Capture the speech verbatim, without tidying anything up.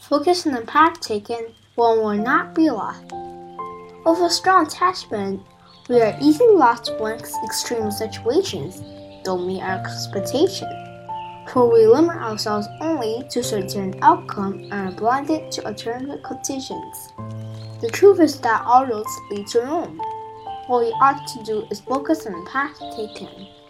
Focus on the path taken, one will not be lost. With a strong attachment, we are easily lost when extreme situations don't meet our expectations, for we limit ourselves only to certain outcomes and are blinded to alternative conditions. The truth is that all roads lead to Rome. What we ought to do is focus on the path taken.